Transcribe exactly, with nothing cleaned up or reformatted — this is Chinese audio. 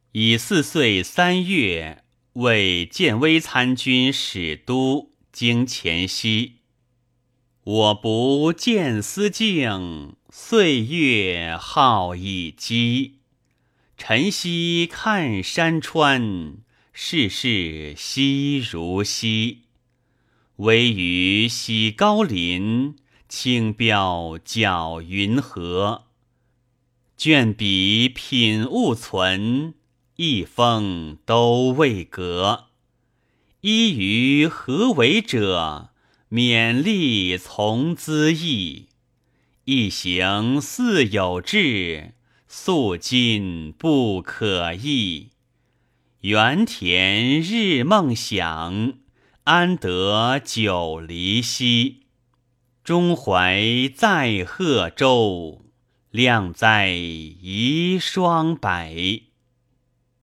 乙巳岁三月，为建威参军使都经前西。我不见思敬，岁月好已积。晨曦看山川，世事稀如稀。微雨洗高林，轻标搅云河。卷笔品物存，一封都未革。依于何为者？勉力从兹议。一行似有志，素今不可议。原田日梦想，安得久离兮？中怀在贺州，亮在遗霜柏。